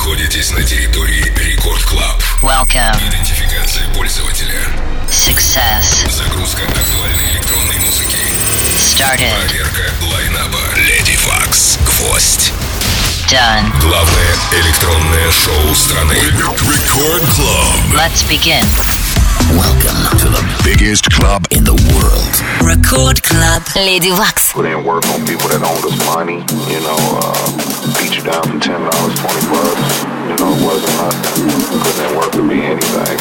находитесь на территории Рекорд Клаб. Welcome. Идентификация пользователя. Success. Загрузка актуальной электронной музыки. Started. Проверка лайнаба. Lady Fox. Гвоздь. Done. Главное электронное шоу страны. Рекорд Club. Let's begin. Welcome to the biggest club in the world. Record Club. Lady Wax. Put in work on people that owned us money, beat you down for $10, $20. It wasn't nothing. Putting in work could be anything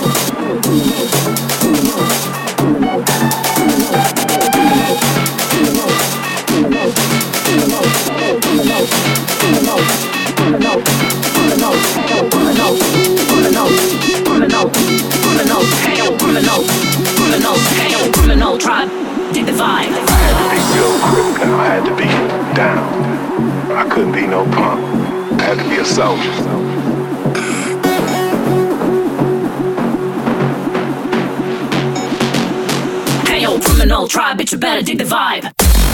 Tribe, dig the vibe. I had to be real quick now. I had to be down. I couldn't be no punk. I had to be a soldier. Hey yo, criminal tribe, bitch, you better dig the vibe.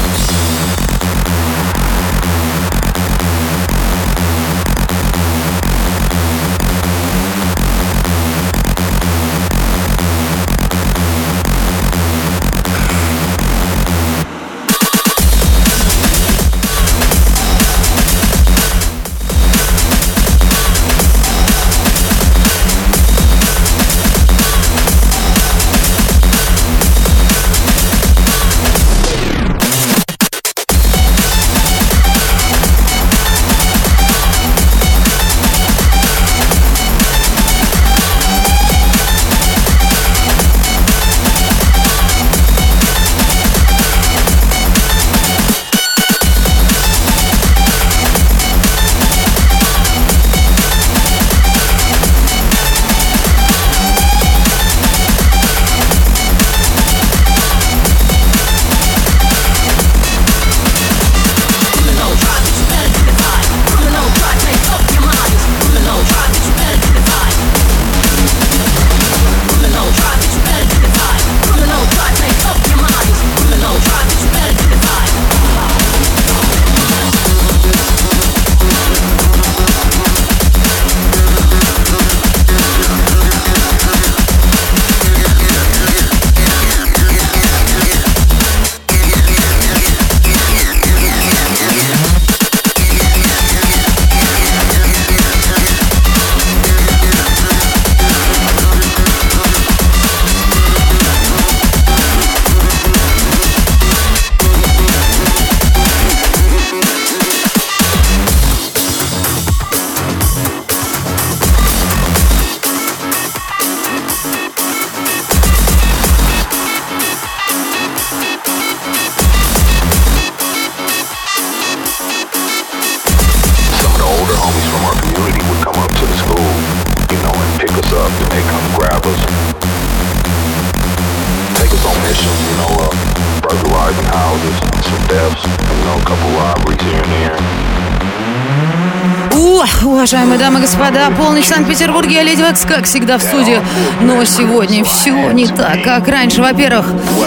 Уважаемые дамы и господа, полночь в Санкт-Петербурге, я Леди Вакс, как всегда, в студии. Но сегодня все не так, как раньше. Во-первых,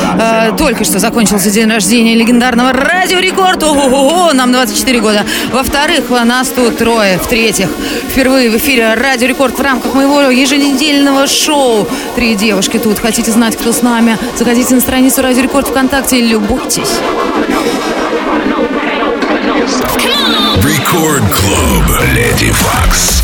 только что закончился день рождения легендарного Радио Рекорд. Ого-го, нам 24 года. Во-вторых, нас тут трое. В-третьих, впервые в эфире Радио Рекорд в рамках моего еженедельного шоу. 3 девушки тут. Хотите знать, кто с нами? Заходите на страницу Радио Рекорд ВКонтакте и любуйтесь. Record Club. Lady Fox.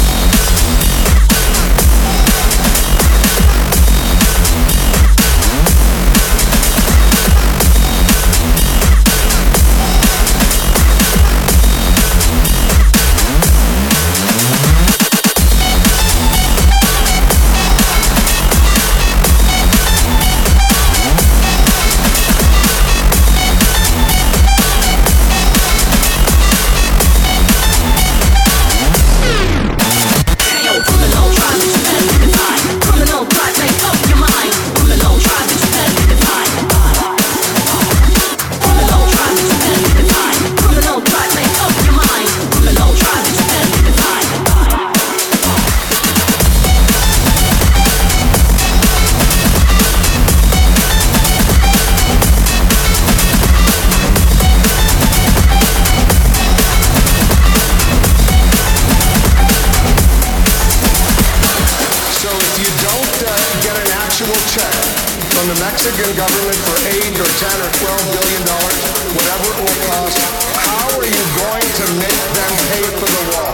check from the Mexican government for 8 or 10 or 12 billion dollars, whatever it will cost, how are you going to make them pay for the wall?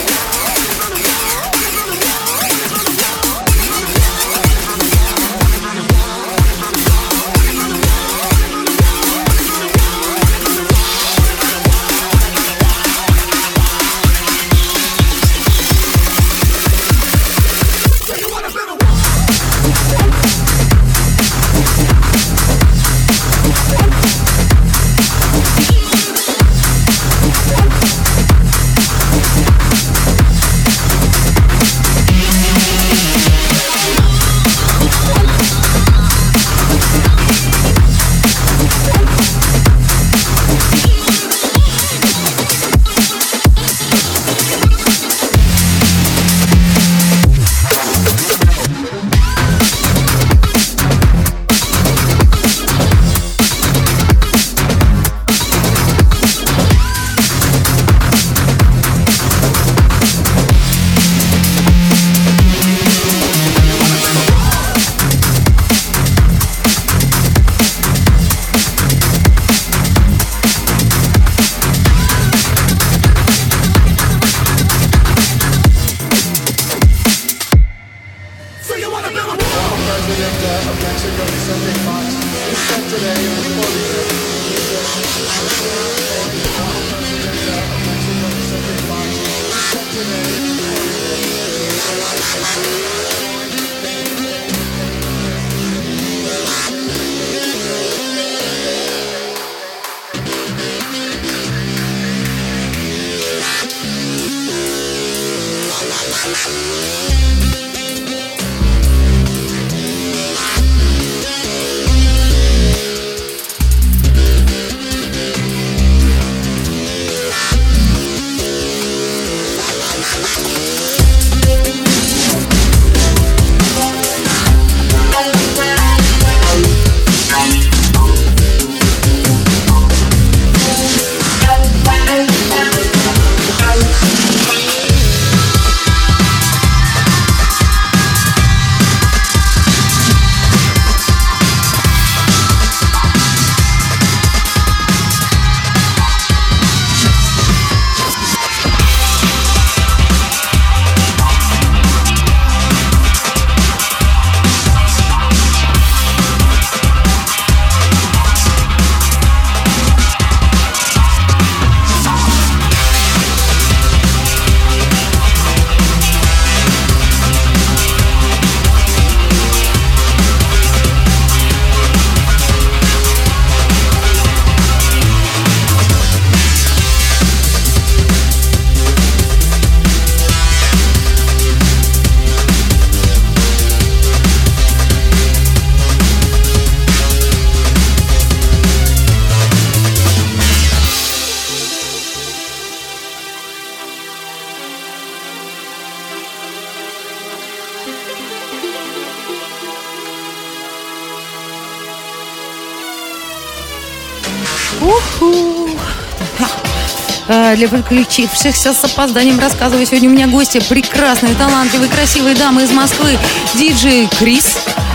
Для подключившихся с опозданием рассказываю. Сегодня у меня гости прекрасные, талантливые, красивые дамы из Москвы. Диджей Крис.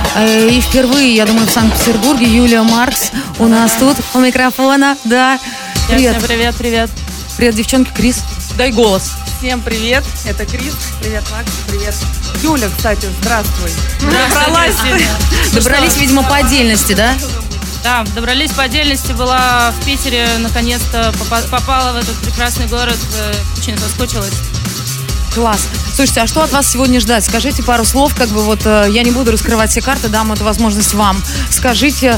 И впервые, я думаю, в Санкт-Петербурге Юлия Маркс у нас тут у микрофона. Да. Привет. Привет, привет. Привет, девчонки. Крис, дай голос. Всем привет, это Крис. Привет, Макс. Привет. Юля, кстати, здравствуй. Добрались, видимо, по отдельности, да? Да, добрались по отдельности, была в Питере, наконец-то попала в этот прекрасный город, очень соскучилась. Класс. Слушайте, а что от вас сегодня ждать? Скажите пару слов, как бы вот, я не буду раскрывать все карты, дам эту возможность вам. Скажите.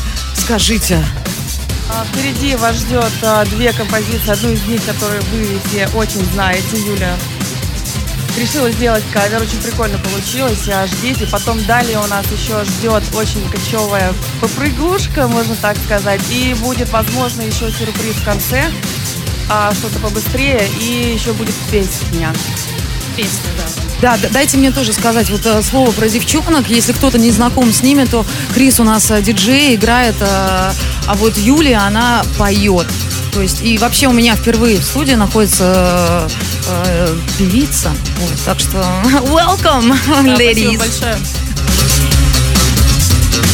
Впереди вас ждет две композиции, одну из них, которую вы все очень знаете, Юля. Решила сделать кавер, очень прикольно получилось, ждите. Потом далее у нас еще ждет очень кочевая попрыгушка, можно так сказать. И будет, возможно, еще сюрприз в конце, что-то побыстрее. И еще будет песня. Песня, да. Да, дайте мне тоже сказать вот слово про девчонок. Если кто-то не знаком с ними, то Крис у нас диджей, играет, а вот Юлия, она поет. То есть, и вообще у меня впервые в студии находится певица. Вот, так что welcome, да, ladies. Спасибо большое.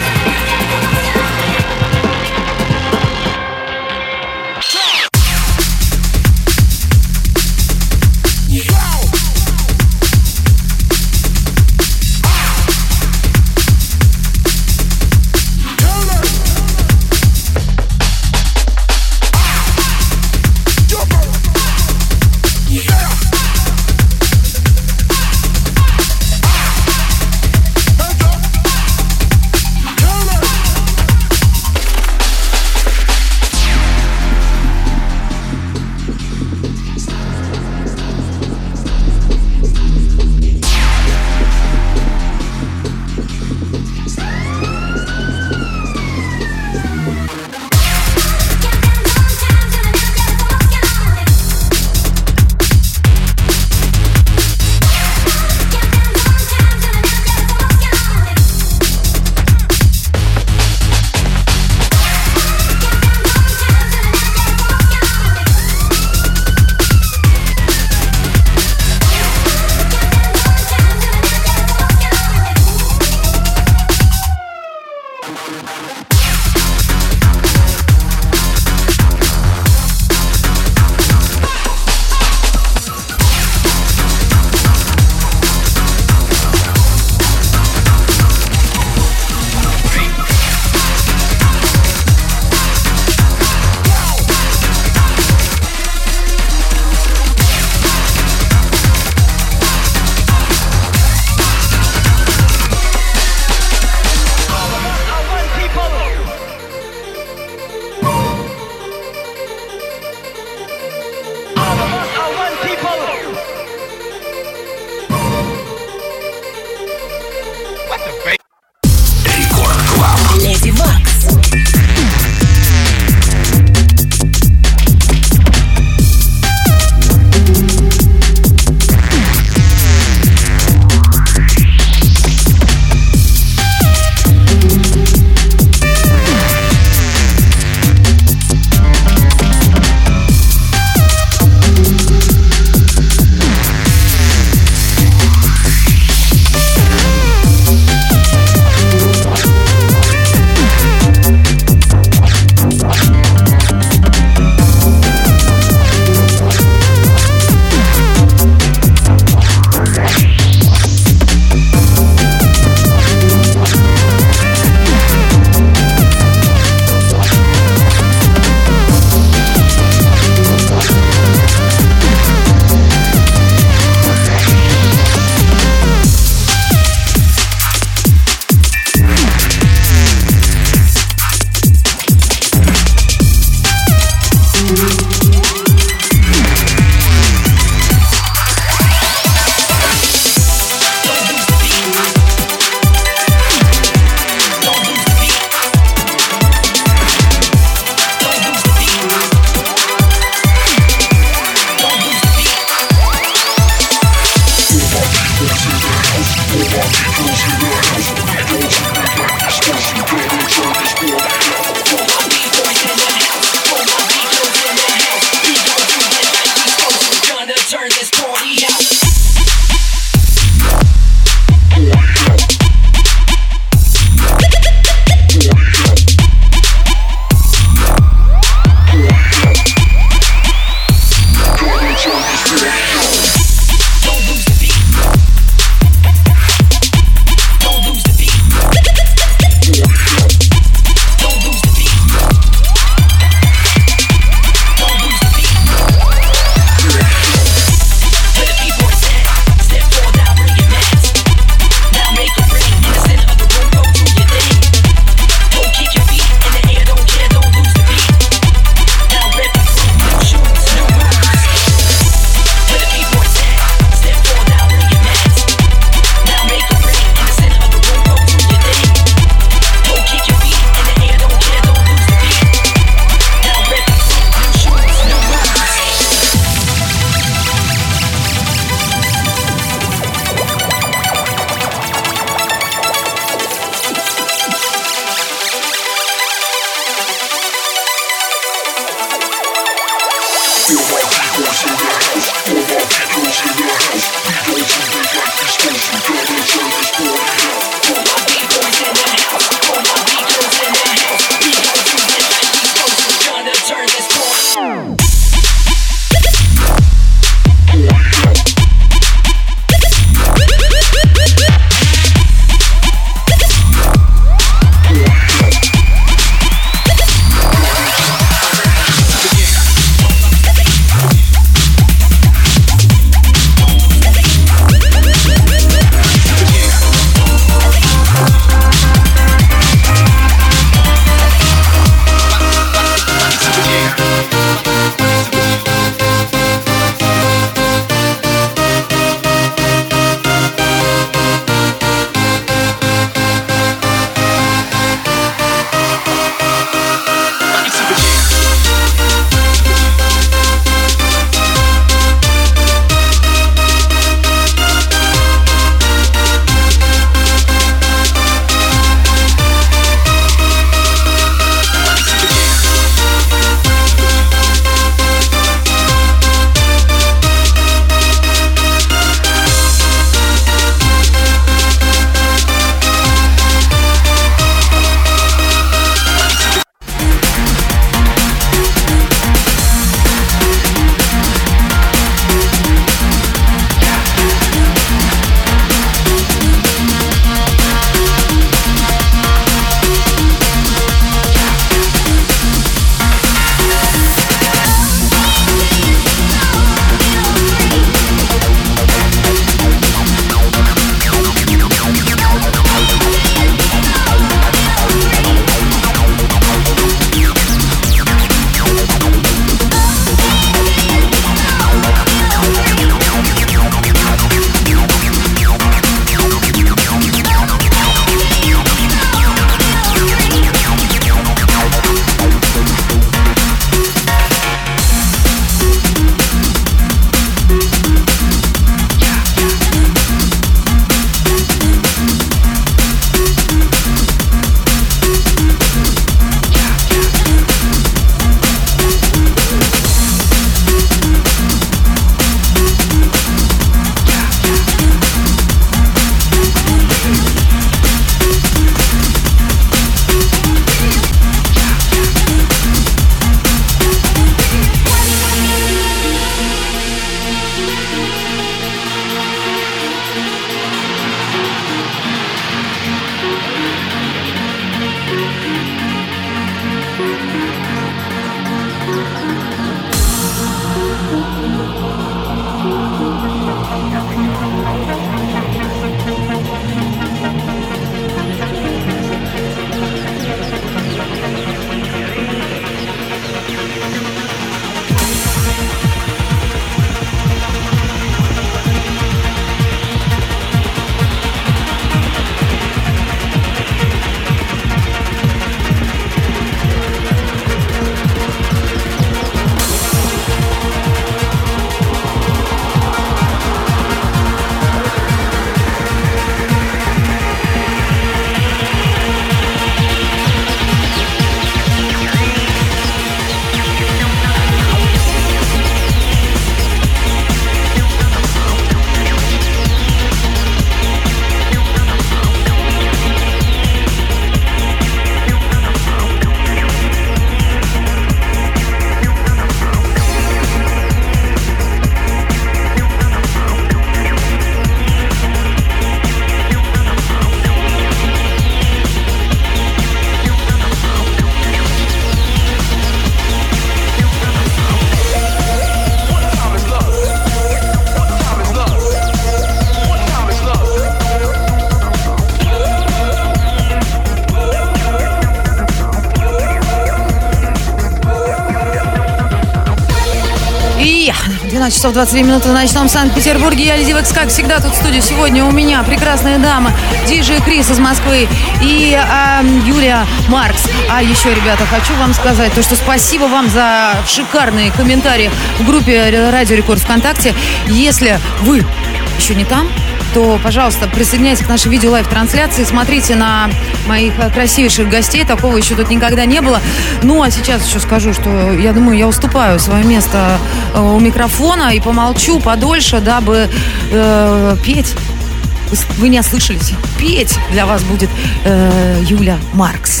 12 часов 22 минуты в ночном Санкт-Петербурге. Я Леди Вакс, как всегда, тут в студии. Сегодня у меня прекрасная дама, диджей Крис из Москвы и Юлия Маркс. А еще, ребята, хочу вам сказать, то, что спасибо вам за шикарные комментарии в группе Радио Рекорд ВКонтакте. Если вы еще не там, то, пожалуйста, присоединяйтесь к нашей видео-лайв-трансляции, смотрите на моих красивейших гостей, такого еще тут никогда не было. Ну, а сейчас еще скажу, что, я думаю, я уступаю свое место у микрофона и помолчу подольше, дабы петь. Вы не ослышались, петь для вас будет Юля Маркс.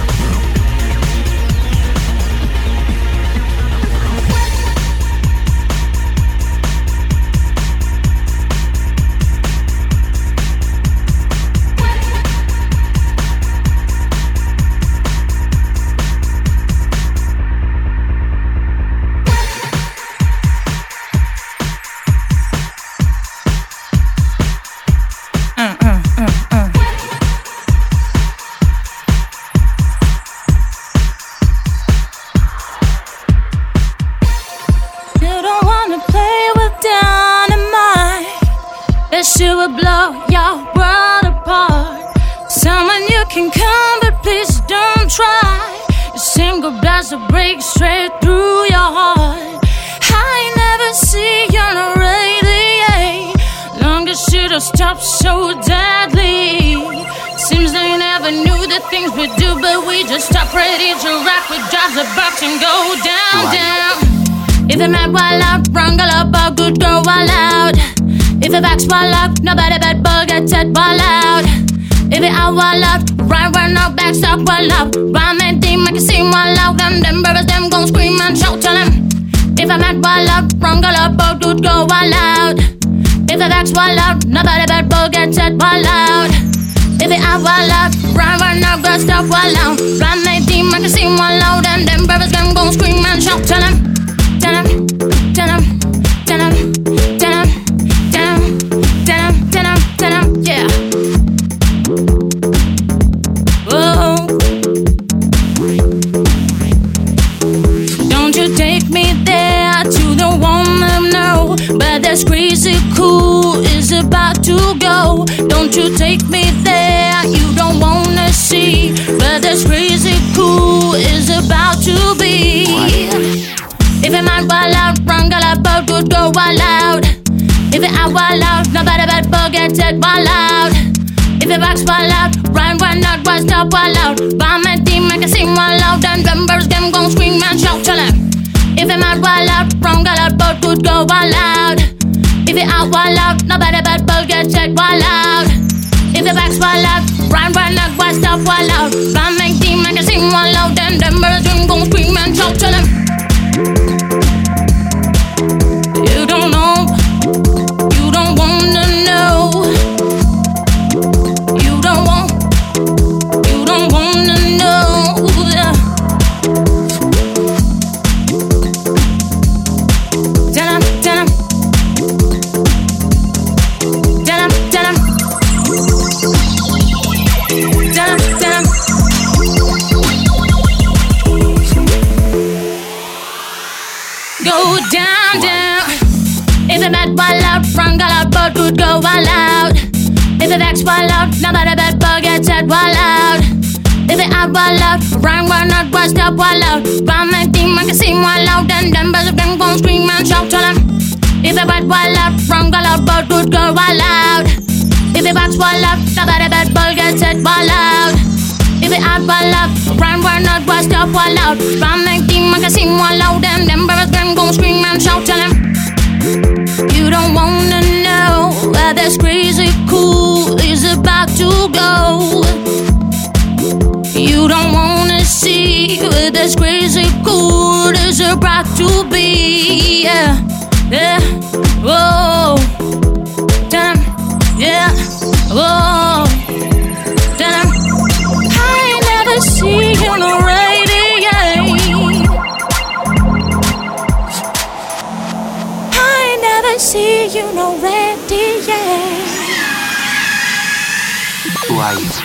Nobody but bug get set ball out. If it out wall out, right run out, back stop wall out. Rhyme and team, I can see wall out. And them brothers, them gon' scream and shout, tell them. If I'm at wall out, wrong girl up, bug dude go wall out. If it backs wall out, nobody but bug get set ball out. If it out wall out, right run out, back stop wall out. Rhyme and team, I can see wall out. And them brothers, them gon' scream and shout, tell them. Tell them, tell them, tell them, tell them. Yeah. Oh. Don't you take me there to the woman, no. But this crazy cool is about to go. Don't you take me there, you don't wanna see. But this crazy cool is about to be. If it might wild out, wrong girl, I both would go wild out. If it out wild out, nobody but bug get set wild out. If it rocks wild out, run out, why stop wild out. Bomb and team, I can sing wild out. And members, them gon' scream and shout, tell them. If it might wild out, wrong girl, I both would go wild out. If it out wild out, nobody but bug get set wild out. If it rocks wild out, run out, why stop wild out. Bomb and team, I can sing wild out. And members, them gon' scream and shout, tell them. You don't know. You don't wanna know. You don't wanna know. Tell him, tell him. Tell him, tell him. Tell him, tell him. Go down, down. If it bad ball out, front girl out, both would go all out. If it backs ball out, nobody bad bug gets set wall out. If it out ball out, run out, why stop wall out. Bomb and team, I can see wall out. And them brothers, them gon' scream and shout, tell them. If it bad wall out, front girl out, both would go all out. If it backs wall out, nobody bad bug gets set wall out. If it out ball out, run out, why stop wall out. Bomb and team, I can see wall out. And them brothers, them gon' scream and shout, tell them. You don't wanna know where this crazy cool is about to go. You don't wanna see where this crazy cool is about to be. Yeah, yeah, whoa, damn, yeah, whoa, damn. I never see you no radiate. I never see you no radiate. Who are you?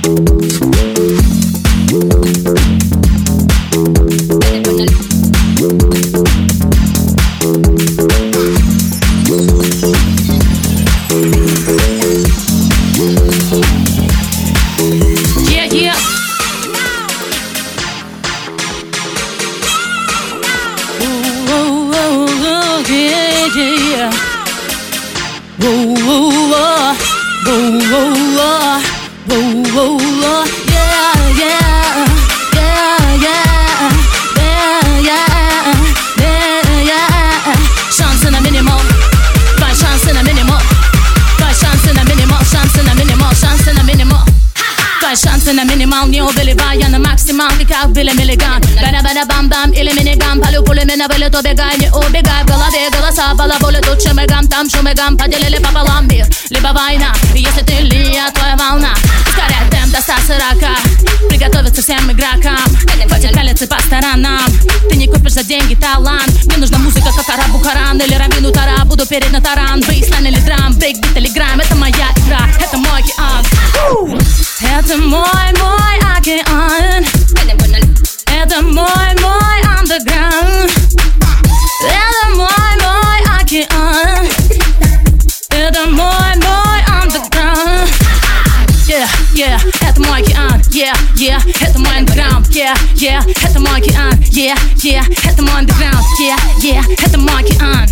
Шансы на минимал, не убивая на максималке, как Билли Миллиган. Бада-бада-бам-бам или миниган, полю пулями на вылет, убегай, не убегай. В голове голоса, балаболи, тут шумигам, там шумигам. Поделили пополам мир, либо война. Если ты линия, твоя волна. Ускоряй темп до 140. Приготовиться всем игрокам. Хватит пялиться по сторонам. Ты не купишь за деньги талант. Мне нужна музыка, как Арабу Харан или Равину Тара. Буду перед на таран, бейслайн или драм, брейкбит или грайм. Это моя игра, это мой океан. Это мой океан. Это мой underground. Это мой океан. Это мой underground. Yeah, yeah, это мой океан. Yeah, yeah, это мой underground. Yeah, yeah, это мой океан. Yeah, yeah, это мой underground. Yeah, yeah, это мой океан.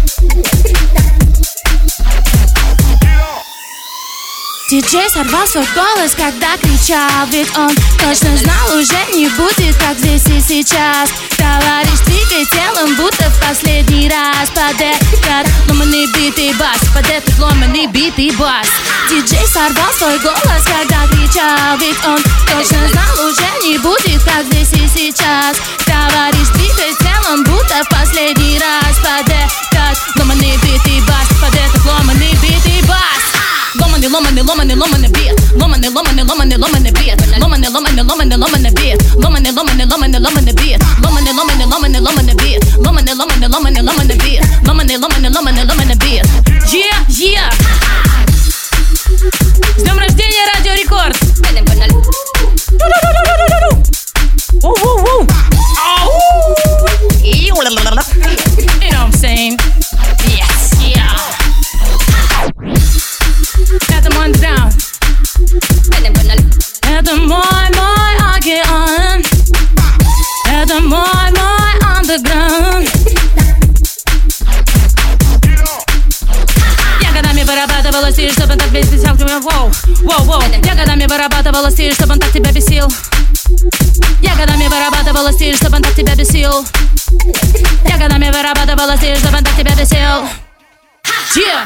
Диджей сорвал свой голос, когда кричал, ведь он точно знал, уже не будет, как здесь и сейчас. Товарищ, двигай телом, будто в последний раз. Под этот ломаный бит и бас, под этот ломаный бит и бас. Диджей сорвал свой голос, когда кричал, ведь он точно знал, уже не будет, как здесь и сейчас. Товарищ, двигай телом, будто в последний раз. Под этот ломаный бит и бас, под этот ломаный бит и бас. Ломаный, ломаный, ломаный, ломаный бит. Ломаный, ломаный, ломаный, ломаный бит. Ломаный, ломаный, ломаный, ломаный бит. Ломаный, ломаный, ломаный, ломаный бит. Ломаный, ломаный, ломаный, ломаный бит. Ломаный, ломаный, ломаный, ломаный бит. Ломаный, ломаный, ломаный, ломаный бит. Yeah, yeah. С днем рождения, Радио Рекорд. You know what I'm saying? Yes, yeah. Это мой underground. Это мой океан. Это мой underground. Я годами вырабатывала стиль, чтобы он так бесил. Воу, воу, воу. Я годами вырабатывала стиль, чтобы он так тебя бесил. Я годами вырабатывала стиль, чтобы он так тебя бесил. Я годами вырабатывала стиль, чтобы он так тебя бесил. Yeah.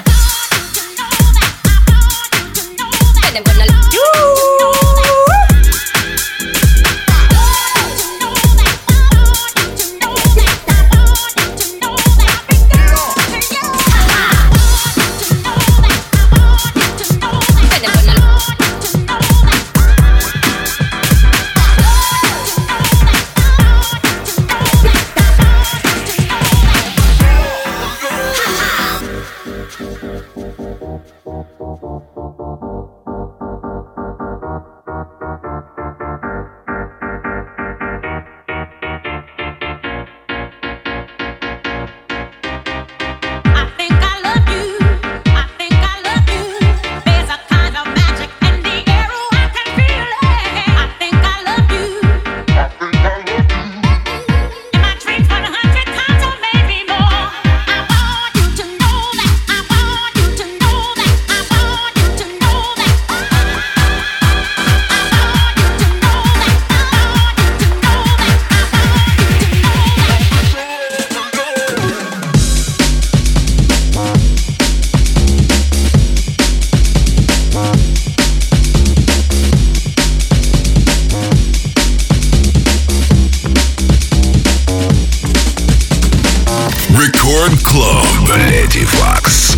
Рекорд Клуб Леди Вакс.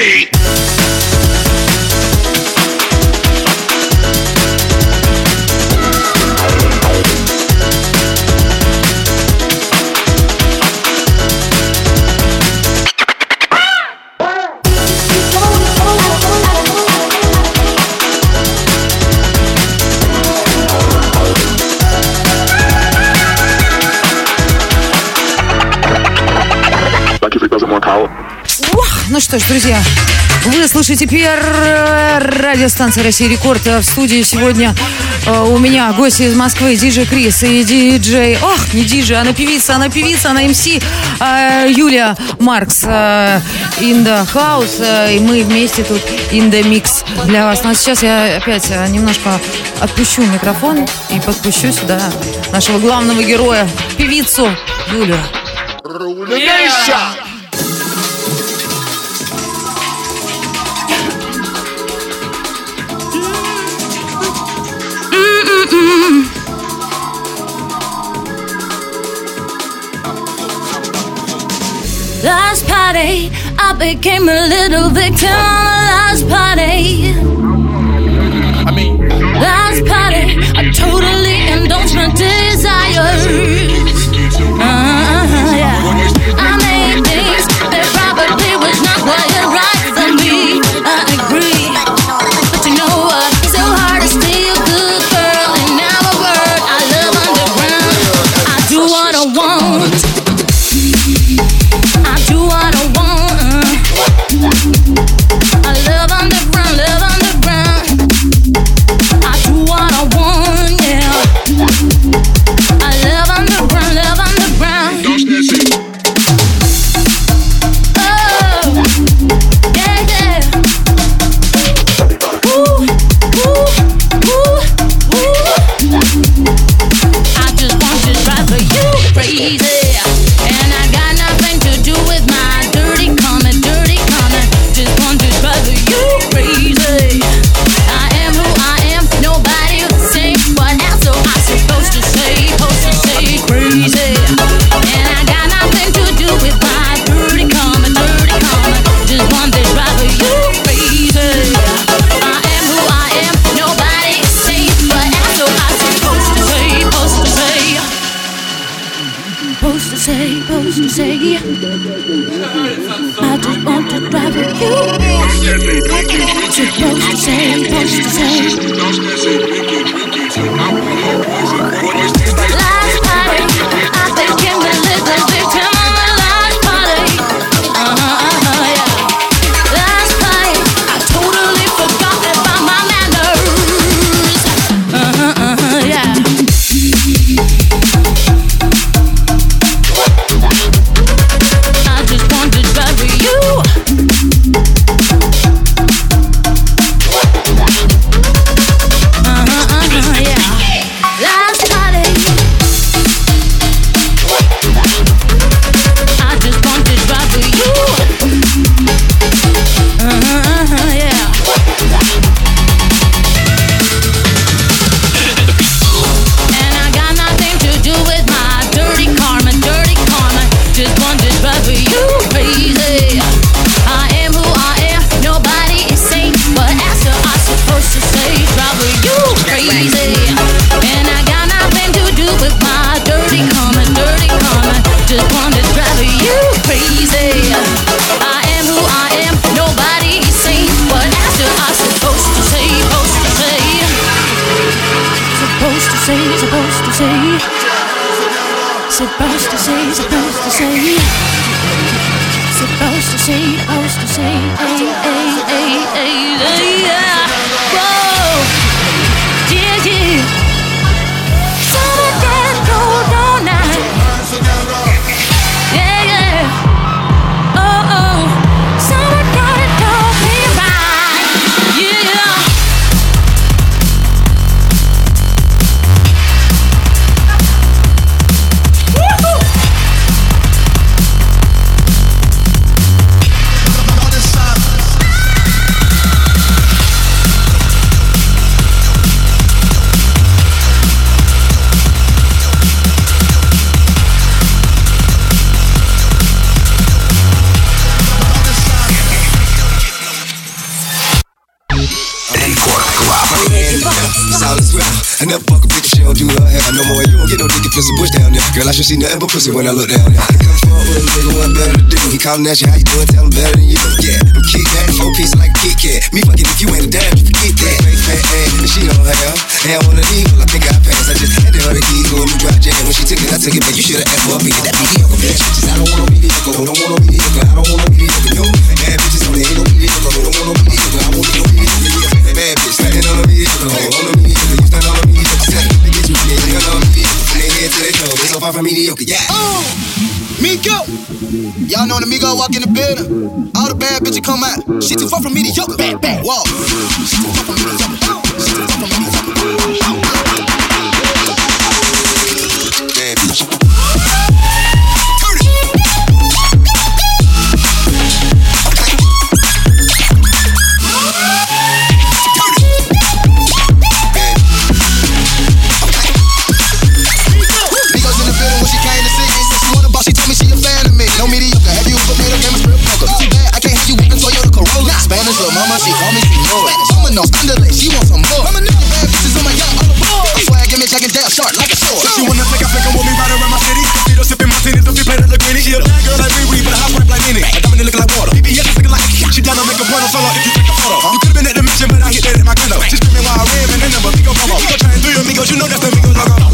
party. Ну что ж, друзья, вы слышите первая радиостанция «Россия Рекорд». В студии сегодня у меня гости из Москвы, диджей Крис и диджей... Ох, не диджей, она певица, она МС Юлия Маркс in the house. И мы вместе тут in the mix для вас. Ну а сейчас я опять немножко отпущу микрофон и подпущу сюда нашего главного героя, певицу Юлию. Last party, I became a little victim on the last party. Last party, I totally indulged my desires. Yeah. I made things that probably was not quite right for me. I agree, but you know what? So hard to stay a good girl in our world. I love underground. I do what I want. I do what I want. I love underground, love underground. I do what I want, yeah. I love underground, love underground. Oh, yeah, yeah. Ooh, ooh, ooh, ooh. I just want to drive for you crazy, and I got nothing to do with my dirty comment, dirty comment. Just want to drive for you crazy. I am who I am, nobody will say what else. So I'm supposed to say crazy. And I got nothing to do with my dirty comment, dirty comment. Just want to drive for you crazy. I am who I am, nobody will say what else. So I'm supposed to say, supposed to say. Supposed to say, supposed to say. I just want to drive with you. Supposed to say, supposed to say. Last party, I became a little victim on the last party. Yeah. Last night, I totally forgot about my manners. Yeah. I just want to drive with you. Yeah. Last party, I just want to drive with you. Yeah. And I got nothing to do with my dirty karma, dirty karma. Just want to drive with you crazy. I am who I am, nobody is safe. But after I'm supposed to say, drive with you crazy. And I got nothing to do with my dirty karma, dirty karma. Just want to drive with you crazy. I am who I am, nobody is safe. But after I'm supposed to say, supposed to say. Supposed to say, supposed to say. Supposed to say, supposed to say. Supposed to say, supposed to say. Yeah. Whoa. Yeah, yeah. Summer getting cold all night. Yeah, yeah. Oh, oh. Summer got it all me right. Yeah. you her hair. No more, you won't get no dick if it's a bush down there. Girl, I should see nothing but pussy when I look down there. Come forward with a nigga, what better to do? He callin' at you, how you doing? Tell him better than you. Yeah, I'm kick that, 4 pieces like a Kit Kat. Me fucking if you ain't a damn, you forget that. Fat ass, and she don't have. And on the legal, I think I passed. I just handed her the keys, go in the dry jam. When she took it, I took it back. You should've asked for a beat. That mediocre bitch. I don't want no mediocre, don't want no mediocre. I don't want no mediocre, no. Bad bitches on there, ain't no mediocre, don't want no mediocre. I want no mediocre. Bad bitch, standing on the mediocre, on the mediocre. You stand on the mediocre, set it to get you, yeah, you on the mediocre. From their head to their toe, they so far from mediocre, yeah. Migo! Y'all know when the Migo walk in the building, all the bad bitches come out. She too far from mediocre, bad, bad. Whoa. She too far from mediocre. She too far from mediocre. Bad bitch. No mediocre, have you ever made a game of strip poker? Too bad, I can't have you with the Toyota Corolla. Spanish little mama, she call me senor. Mama knows underlay, she wants some more. Mama nigga, bad bitches on my yacht, all aboard. I swear I give me Jack and Dale sharp like a sword. She wanna flick, I flick, with me right around my city. Feet up sipping martinis, don't be playing the Greenie. She a bad girl like Riri, but a hot pipe like Nene. A diamond looking like water. BBS is looking like a she down to make a porno solo if you take a photo. You could've been at the mission, but I hit that at my condo. She screaming while I ran, and then number, Migo come on. Migo trying through your amigos, you know that's the Migo logo.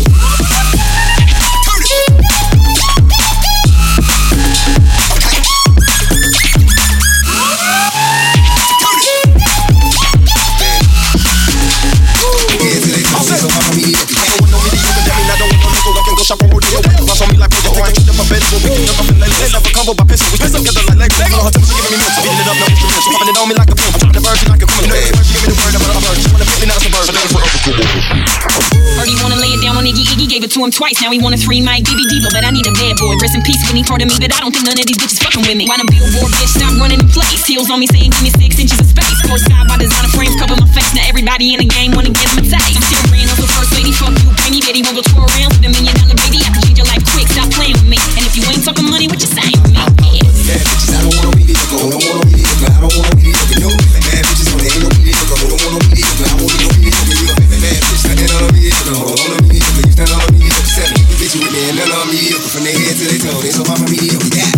Shop on rodeo, bounce on me like Rojo. I ain't up a bed, so we can jump up in LA. Let's have a combo by pencil, we stick together like Lego. Her temperature giving me milk, beating it up, no instruments. She popping it on me like a pill, I'm trying to burn you like a criminal. She give me the word about a bird, she wanna fit me, not a suburb. Heard he wanna lay it down on Iggy, Iggy gave it to him twice. Now he wanna 3 mic DB Diva, but I need a bad boy. Rest in peace when he part of me, but I don't think none of these bitches fucking with me. Why the billboard bitch stop running the place? Heels on me saying give me 6 inches of space. Courtside by designer frames cover my face. Now everybody in the game wanna get him a taste. I'm still ran over first lady, fuck you, pay me, Betty won't go tour around with $1 million baby. I can change your life quick, stop playing with me. And if you ain't talking money, what you saying with me? Bad bitches, I don't want no mediocre, don't want no mediocre. I don't want no mediocre, no. Bad bitches on there, ain't no mediocre, don't want no mediocre. I want no mediocre, you a bad bitch, standing on a mediocre, on a mediocre. You stand on a mediocre, 7. Bitch, you with me, and none of them mediocre. From their head to their toe, they so far from mediocre, yeah.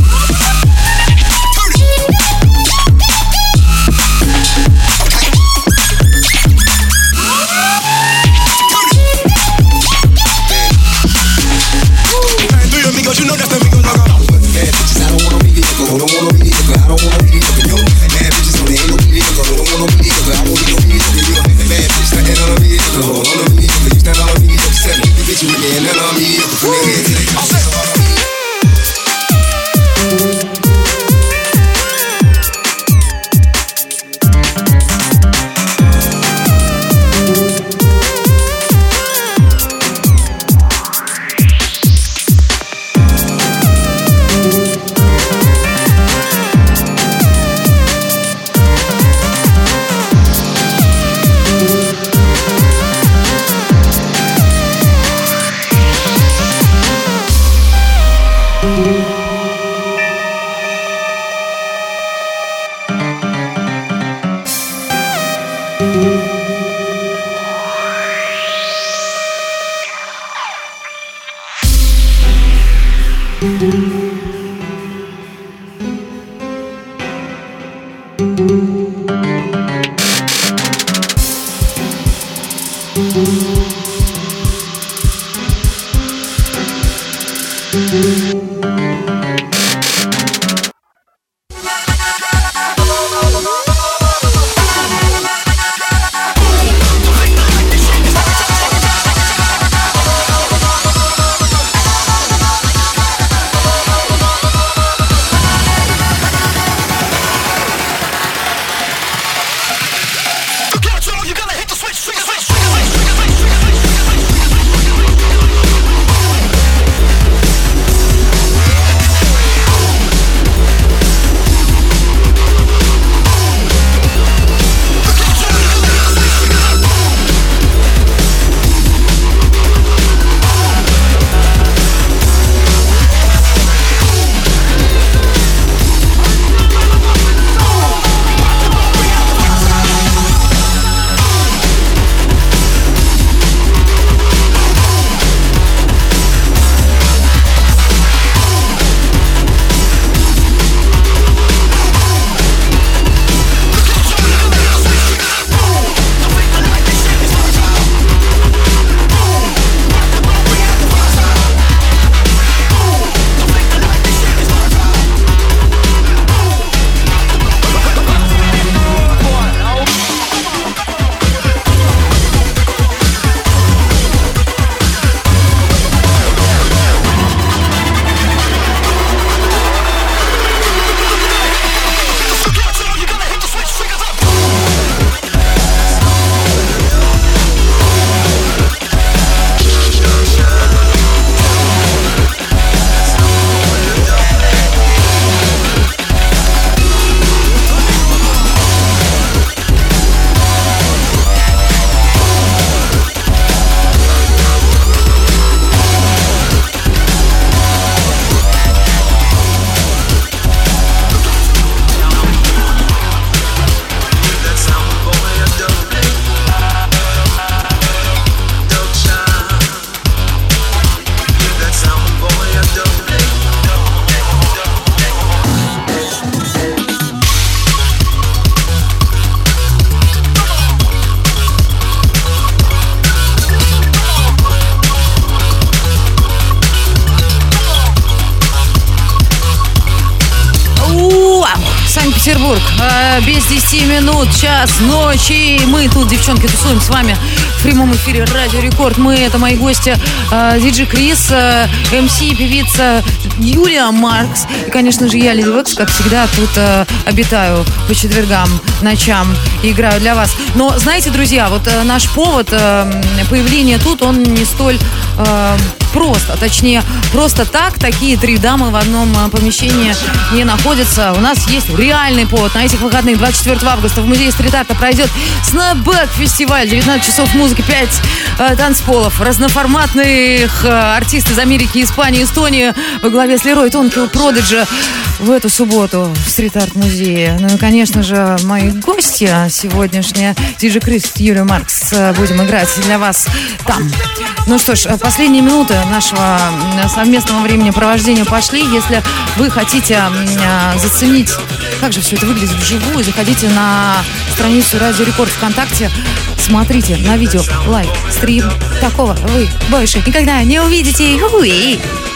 You know that's the Migo logo. Bad bitches, I don't want no mediocre, don't want no mediocre. I don't want no mediocre, no. Bad bitches on there, ain't no mediocre, don't want no mediocre. I want no mediocre, you a bad bitch, standing on a mediocre, on a mediocre. You stand on a mediocre, 7. Bitch, you with me, and none of them mediocre. From their head to their toe. Санкт-Петербург. Без 10 минут, час ночи. Мы тут, девчонки, тусуем с вами в прямом эфире Радио Рекорд. Это мои гости Диджей Крис, МС, певица Юлия Маркс. И, конечно же, я, Леди Вакс, как всегда, тут обитаю по четвергам, ночам и играю для вас. Но, знаете, друзья, вот наш повод появления тут, он не столь просто. Точнее, просто так такие три дамы в одном помещении не находятся. У нас есть реальный повод. На этих выходных 24 августа в музее стрит-арта пройдет Снэпбэк-фестиваль. 19 часов музыки, 5 танцполов. Разноформатных артисты из Америки, Испании, Эстонии во главе с Лерой Тонкил Продиджи в эту субботу в стрит-арт-музее. Ну и, конечно же, мои гости сегодняшние, Диджей Крис, Юлия Маркс, будем играть для вас там. Ну что ж, последние минуты нашего совместного времяпровождения пошли. Если вы хотите заценить, как же все это выглядит вживую, заходите на страницу Радио Рекорд ВКонтакте, смотрите на видео лайв стрим. Такого вы больше никогда не увидите. Уи.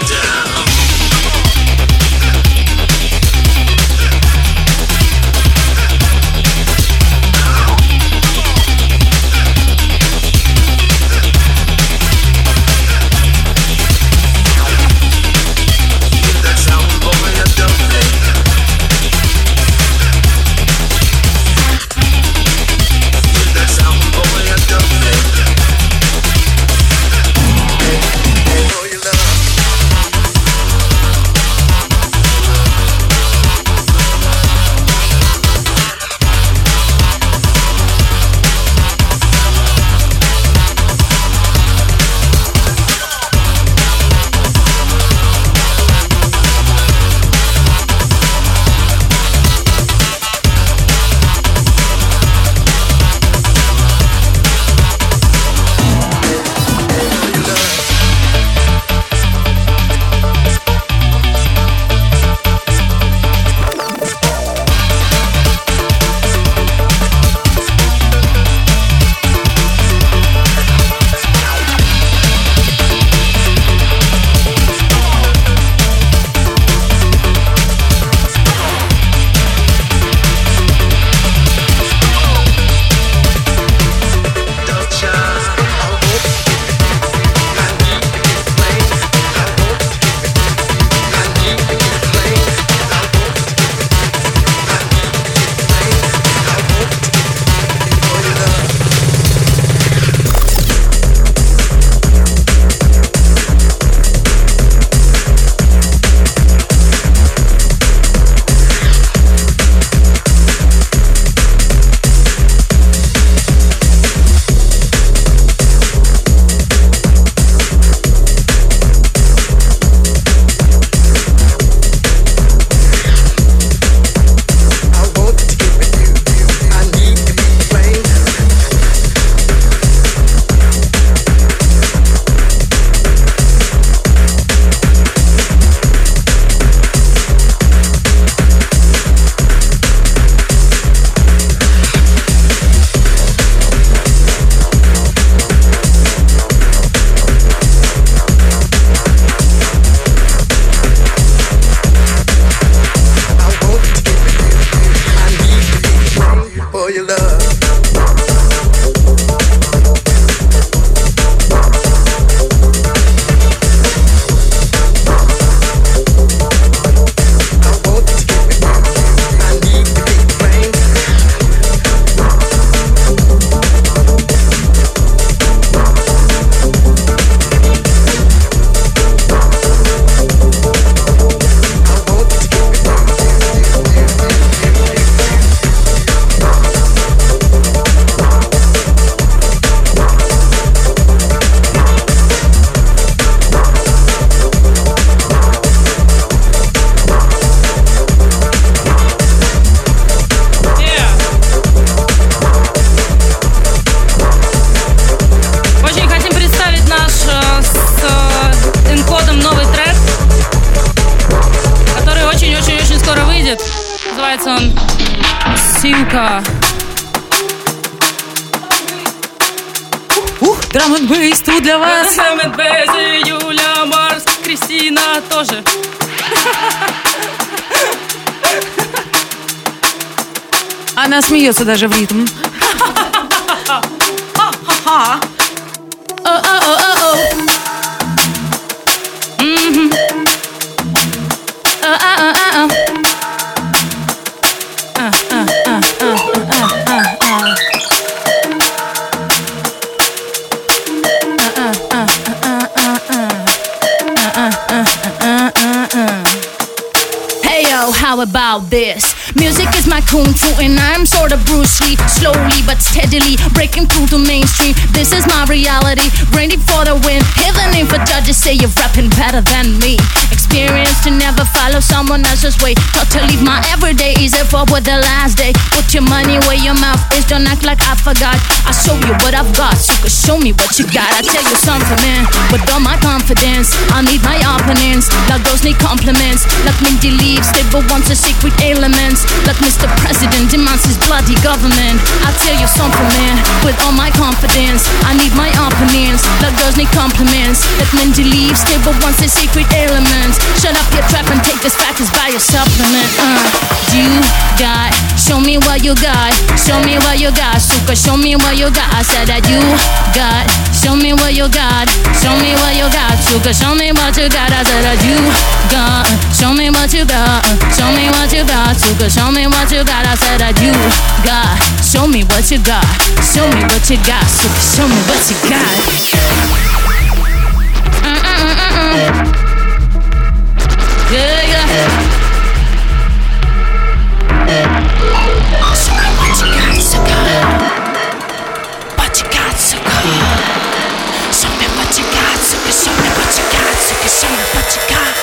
Называется он «Симка». Драм-н-бейс тут для вас. Драм-н-бейс, Юля Маркс, Кристина тоже. Она смеется даже в ритм. How about this? Music is my kung fu and I'm sort of Bruce Lee. Slowly but steadily breaking through the mainstream. This is my reality, ready for the win. Even if a judges say you're rapping better than me. Experience to never follow someone else's way. Not to leave my everyday easy forward the last day. Put your money where your mouth is, don't act like I forgot. I show you what I've got, so you can show me what you got. I tell you something, man, with all my confidence, I need my opponents, like those need compliments. Like Mindy leaves, they but wants a secret elements. Like Mr. President demands his bloody government. I tell you something, man, with all my confidence, I need my opponents, like girls need compliments. Like Mindy leaves, they but wants a secret elements. Shut up your trap and take this back as buy a supplement. You got, show me what you got. Show me what you got, suka, show me what you got. I said that you got, show me what you got. Show me what you got, suka, show me what you got. I said that you got, show me what you got. Show me what you got, suka, show me what you got. I said that you got, show me what you got. Show me what you got, suka, show me what you got. Yeah, yeah. Show me what you got, suka. What you got, suka. Show me what you got, suka. Show me what you got, suka. Show me what you got.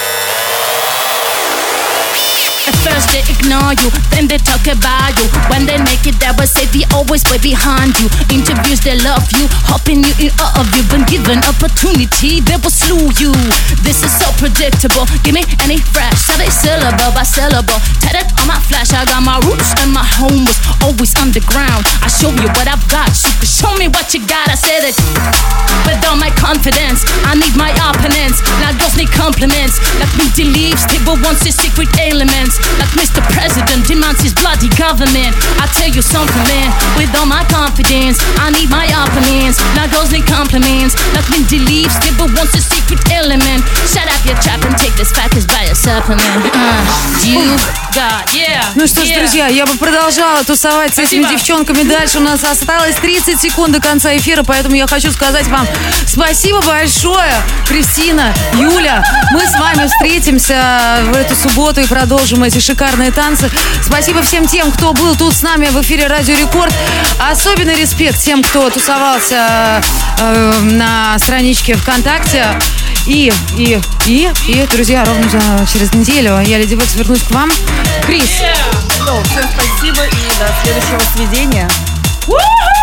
At first they ignore you, then they talk about you. When they make it, they will say they always way behind you. Interviews, they love you, hoping you in awe of you. Been given opportunity, they will slew you. This is so predictable. Give me any fresh, so they syllable by syllable. Tatted on my flash, I got my roots and my home was always underground. I show you what I've got, you can show me what you got. I said it with all my confidence. I need my opponents, now girls need compliments. Like Minty leaves, table wants his secret elements. Like Mr. President demands his bloody government. I tell you something, man, with all my confidence, I need my opponents, now girls need compliments. Like Minty leaves, table wants a secret element. Shut up your trap and take this back as buy a supplement. You got, yeah. Ну что ж, друзья, я бы продолжала тусовать с этими девчонками дальше. У нас осталось 30 секунд до конца эфира, поэтому я хочу сказать вам спасибо большое, Кристина, Юля. Мы с вами встретимся в эту субботу и продолжим эти шикарные танцы. Спасибо всем тем, кто был тут с нами в эфире Радио Рекорд. Особенный респект тем, кто тусовался на страничке ВКонтакте. И, друзья, ровно через неделю я, Леди Вакс, вернусь к вам. Крис. Всем спасибо и до следующего свидания.